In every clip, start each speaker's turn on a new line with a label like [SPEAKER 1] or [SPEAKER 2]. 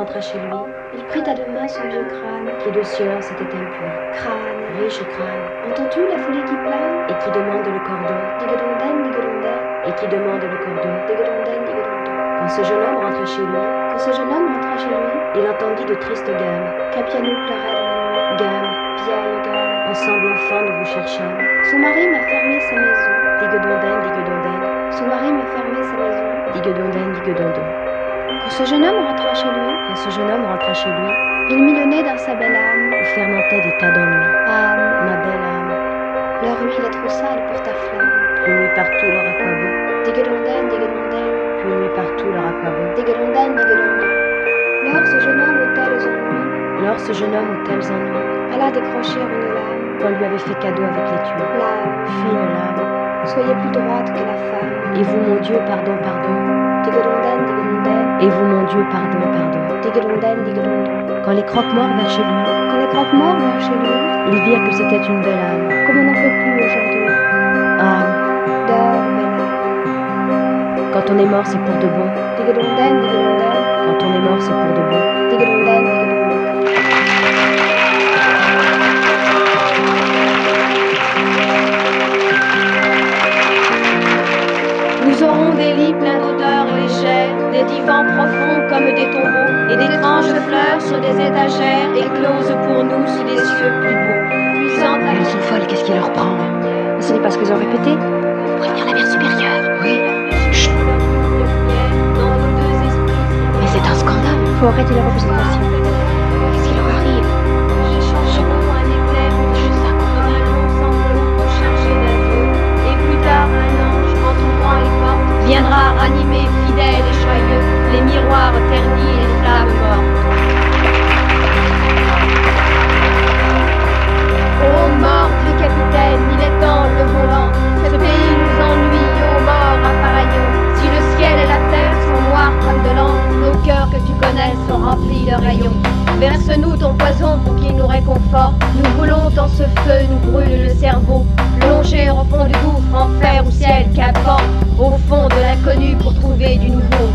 [SPEAKER 1] rentra chez lui,
[SPEAKER 2] Il prit à deux mains son vieux crâne.
[SPEAKER 1] qui de sueur s'était impui.
[SPEAKER 2] Crâne.
[SPEAKER 1] Riche crâne,
[SPEAKER 2] Entends-tu la foulée qui plane?
[SPEAKER 1] et qui demande le cordon,
[SPEAKER 2] Digodondaine, digodondaine,
[SPEAKER 1] et qui demande le cordon.
[SPEAKER 2] digodondaine, digodondaine.
[SPEAKER 1] Quand ce jeune homme rentra chez lui,
[SPEAKER 2] Quand ce jeune homme rentra chez lui,
[SPEAKER 1] il entendit de tristes gammes.
[SPEAKER 2] Capiano pleurait dans la nuit.
[SPEAKER 1] Gammes,
[SPEAKER 2] Vieille gamme.
[SPEAKER 1] ensemble enfants, nous vous cherchâmes.
[SPEAKER 2] Son mari m'a fermé sa maison.
[SPEAKER 1] Digodondaine, digodondaine,
[SPEAKER 2] Son mari m'a fermé sa maison.
[SPEAKER 1] digodondaine, digodondo.
[SPEAKER 2] Quand ce jeune homme rentra chez lui,
[SPEAKER 1] Quand ce jeune homme rentra chez lui,
[SPEAKER 2] il mit le nez dans sa belle âme.
[SPEAKER 1] où fermentaient des tas d'ennuis.
[SPEAKER 2] Âme,
[SPEAKER 1] Ma belle âme,
[SPEAKER 2] leur huile est trop sale pour ta flamme.
[SPEAKER 1] puis mit partout leur aquabon,
[SPEAKER 2] Digodondaine, digodondaine,
[SPEAKER 1] puis mit partout leur aquabon.
[SPEAKER 2] digodondaine, digodondo. Lors ce jeune homme aux tels ennuis
[SPEAKER 1] Lors ce jeune homme aux tels ennuis,
[SPEAKER 2] alla décrocher une lame.
[SPEAKER 1] qu'on lui avait fait cadeau avec l'étui.
[SPEAKER 2] Lame,
[SPEAKER 1] Fine lame,
[SPEAKER 2] soyez plus droite que la femme.
[SPEAKER 1] et vous mon Dieu, pardon, pardon.
[SPEAKER 2] Digodondaine, digodondaine,
[SPEAKER 1] Et vous mon Dieu, pardon, pardon.
[SPEAKER 2] digodondaine, digodondo.
[SPEAKER 1] Quand les croque-morts vinrent chez lui,
[SPEAKER 2] Quand les croque-morts vinrent chez lui,
[SPEAKER 1] ils virent que c'était une belle âme.
[SPEAKER 2] comme on n'en fait plus aujourd'hui.
[SPEAKER 1] Âme,
[SPEAKER 2] Dors, belle âme.
[SPEAKER 1] quand on est mort, c'est pour de bon.
[SPEAKER 2] Digodondaine, digodondaine,
[SPEAKER 1] Quand on est mort, c'est pour de bon.
[SPEAKER 2] digodondaine, digodondo.
[SPEAKER 3] Nous aurons des lits pleins d'odeurs légères, des divans profonds comme des tombeaux, et d'étranges fleurs sur des étagères, écloses pour nous sous des cieux plus beaux. Puissantes
[SPEAKER 1] Elles sont folles, qu'est-ce qui leur prend?
[SPEAKER 2] Mais ce n'est pas ce qu'elles ont répété.
[SPEAKER 1] Prévenir la mère supérieure. Oui.
[SPEAKER 3] Chut. Dans nos deux esprits.
[SPEAKER 1] Mais c'est un scandale.
[SPEAKER 2] Faut arrêter les représentations.
[SPEAKER 1] Qu'est-ce qui leur arrive?
[SPEAKER 3] J'échangerons un éclair comme un long sanglot chargé d'un feu, et plus tard un ange, entourant les portes, viendra ranimer fidèle et joyeux les miroirs ternis et les flammes mortes. Ô mort du capitaine, il est temps le volant. Ce pays nous ennuie, ô mort appareillons. Si le ciel et la terre sont noirs comme de l'encre, nos cœurs que tu connais sont remplis de rayons. Verse-nous ton poison pour qu'il nous réconforte. Nous voulons dans ce feu, nous brûle le cerveau. Plonger au fond du gouffre, enfer ou ciel, qu'importe. Au fond de l'inconnu pour trouver du nouveau.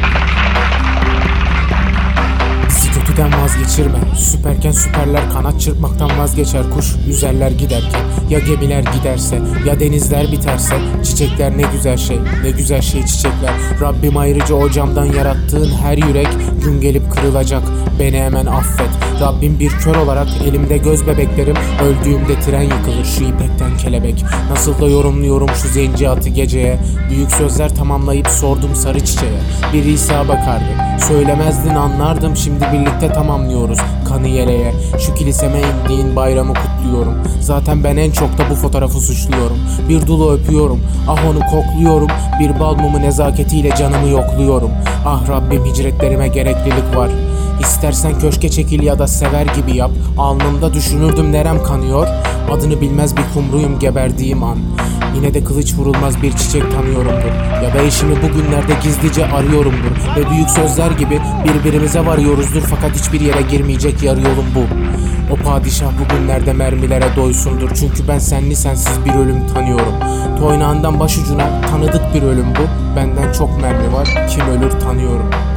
[SPEAKER 4] Bizi kötüden vazgeçirme. Süperken süperler kanat çırpmaktan vazgeçer kuş. Yüzerler giderken ya gemiler giderse ya denizler biterse. Çiçekler ne güzel şey, ne güzel şey çiçekler. Rabbim ayrıca o camdan yarattığın her yürek gün gelip kırılacak. Beni hemen affet. Rabbim bir kör olarak elimde göz bebeklerim. Öldüğümde tren yıkılır şu ipekten kelebek. Nasıl da yorumluyorum şu zenci atı geceye. Büyük sözler tamamlayıp sordum sarı çiçeğe. Bir İsa bakardı, söylemezdin anlardım. Şimdi birlikte tamamlıyoruz kanı yeleğe. Şu kiliseme indiğin bayramı kutluyorum. Zaten ben en çok da bu fotoğrafı suçluyorum. Bir dulu öpüyorum, ah onu kokluyorum. Bir bal mumu nezaketiyle canımı yokluyorum. Ah Rabbim hicretlerime gereklilik var. İstersen köşke çekil ya da sever gibi yap. Alnımda düşünürdüm nerem kanıyor. Adını bilmez bir kumruyum geberdiğim an. Yine de kılıç vurulmaz bir çiçek tanıyorumdur. Ya da eşimi bugünlerde gizlice arıyorumdur. Ve büyük sözler gibi birbirimize varıyoruzdur. Fakat hiçbir yere girmeyecek yarı yolum bu. O padişah bugünlerde mermilere doysundur. Çünkü ben senli sensiz bir ölüm tanıyorum. Toynağından başucuna tanıdık bir ölüm bu. Benden çok mermi var, kim ölür tanıyorum.